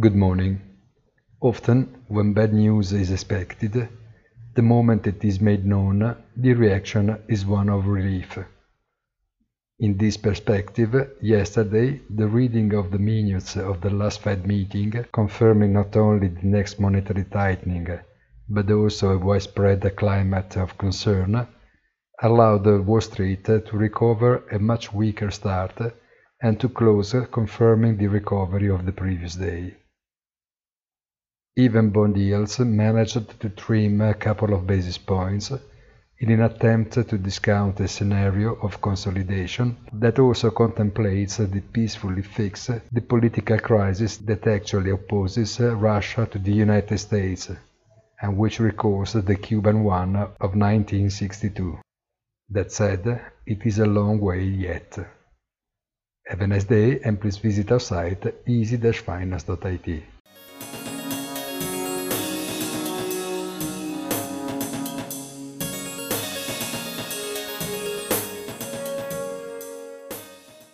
Good morning. Often, when bad news is expected, the moment it is made known, the reaction is one of relief. In this perspective, yesterday, the reading of the minutes of the last Fed meeting, confirming not only the next monetary tightening, but also a widespread climate of concern, allowed Wall Street to recover a much weaker start and to close confirming the recovery of the previous day. Even bond yields managed to trim a couple of basis points in an attempt to discount a scenario of consolidation that also contemplates the peacefully fix the political crisis that actually opposes Russia to the United States, and which recalls the Cuban one of 1962. That said, it is a long way yet. Have a nice day and please visit our site easy-finance.it.